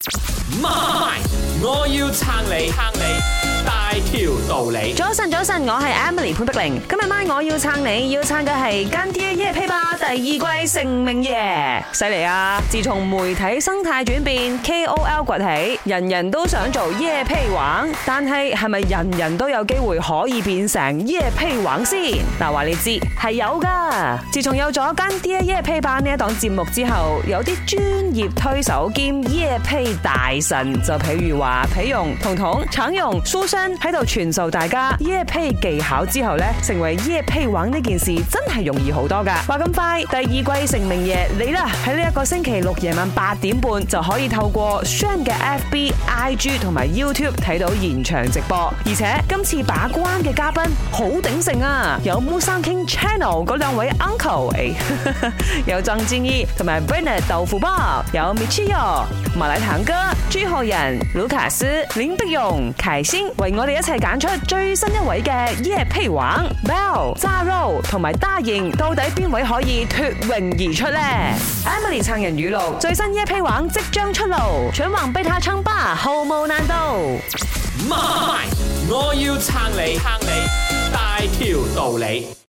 媽，我要撐你大條道理。 早晨，我係 Emily 潘碧玲。今日晚我要撐你，要撐嘅係乾爹夜配吧第二季成名夜，犀利啊！自從媒體生態轉變 ，KOL 崛起，人人都想做夜配王，但係咪人人都有機會可以變成夜配王先？嗱，話你知係有噶。自從有咗乾爹夜配吧呢一檔節目之後，有啲專業推手兼夜配大神，就譬如話皮蓉、彤彤、橙蓉、蘇珊喺度傳授大家夜配技巧之後呢，成為夜配王呢件事真係容易好多噶。話咁快，第二季成名夜嚟啦！喺呢一個星期六夜晚8點半就可以透過 Shine 嘅 FB、IG 同埋 YouTube 睇到現場直播，而且今次把關嘅嘉賓好鼎盛啊！有 Musang King Channel 嗰兩位 uncle， 有曾志毅同埋 Bernard 豆腐包，有 Michio、馬來堂哥、朱浩仁、盧卡斯、林碧蓉、凱欣，為我哋一齊揀出最新一位嘅夜配王 Bell、扎 Ro 同埋大瑩，到底邊位可以脫穎而出呢？ Emily 撐人語錄，最新夜配王即將出爐，全網被他稱霸，毫無難度。 媽，我要撐你大條道理。